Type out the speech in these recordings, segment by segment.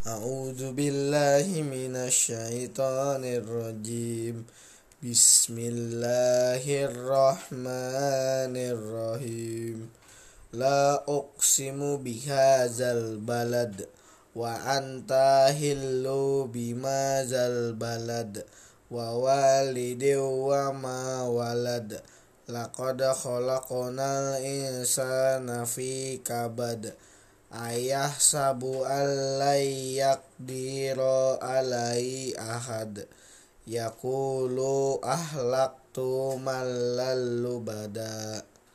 A'udzu billahi minasy syaithanir rajim. Bismillahirrahmanirrahim. La uqsimu bihadzal balad wa anta hillu bimadzal balad wa walidin wa ma walad. Laqad khalaqnal insana fi kabad. Ayah sabu alai yakdiro alai ahad. Yakulu ahlaktu malal lubada.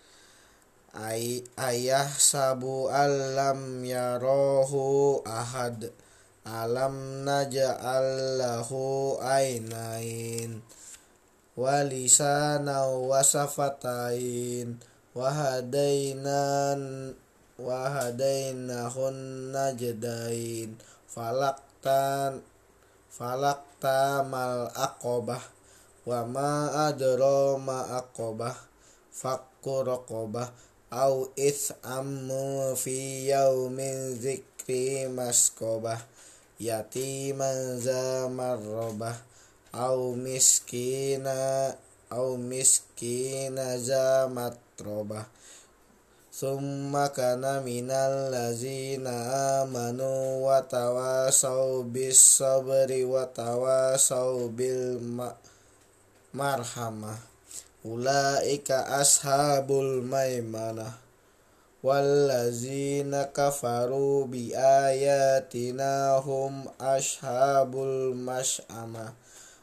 Ayah sabu alam yarohu ahad. Alam naja'al lahu ainain walisana wasafatain wahadainahun najdain falakta mal aqobah wa ma adro ma aqobah fakku raqobah au is'ammu fi yaumin zikri maskobah yatiman za marrobah au miskina za matrobah summa kana minal lazina amanu wa tawasaw bis sabri wa tawasaw bil marhamah. Ulaika ashabul maimanah. Wallazina kafaru bi ayatina hum ashabul mash'amah.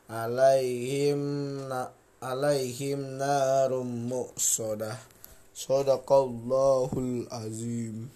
Alaihim narum muqsadah. Shadaqallahul azim.